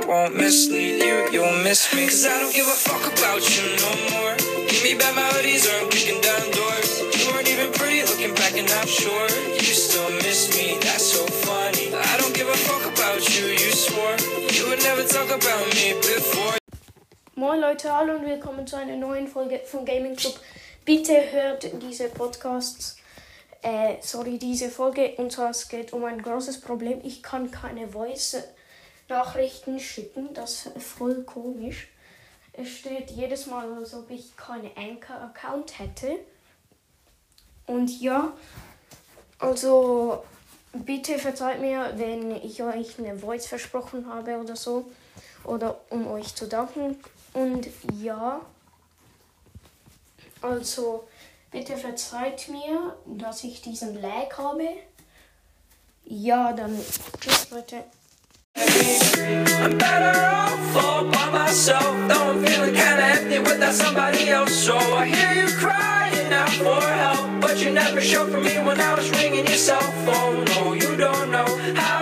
won't mislead you, you'll miss me. Cause I don't give a fuck about you no more. Give me back my hoodies or I'm kicking down doors. You weren't even pretty looking back and I'm sure you still miss me, that's so funny. I don't give a fuck about you, you swore you would never talk about me before. Moin Leute, hallo und willkommen zu einer neuen Folge von Gaming Club. Bitte hört diese diese Folge, und zwar es geht um ein großes Problem. Ich kann keine Voice-Nachrichten schicken, das ist voll komisch. Es steht jedes Mal, als ob ich keinen Anchor-Account hätte. Und ja, also bitte verzeiht mir, wenn ich euch eine Voice versprochen habe oder so. Oder um euch zu danken. Und ja, also bitte verzeiht mir, dass ich diesen Lag habe. Ja, dann tschüss Leute. I'm better off all by myself, though I'm feeling kinda empty without somebody else. So I hear you crying out for help, but you never showed for me when I was ringing your cell phone. No, you don't know how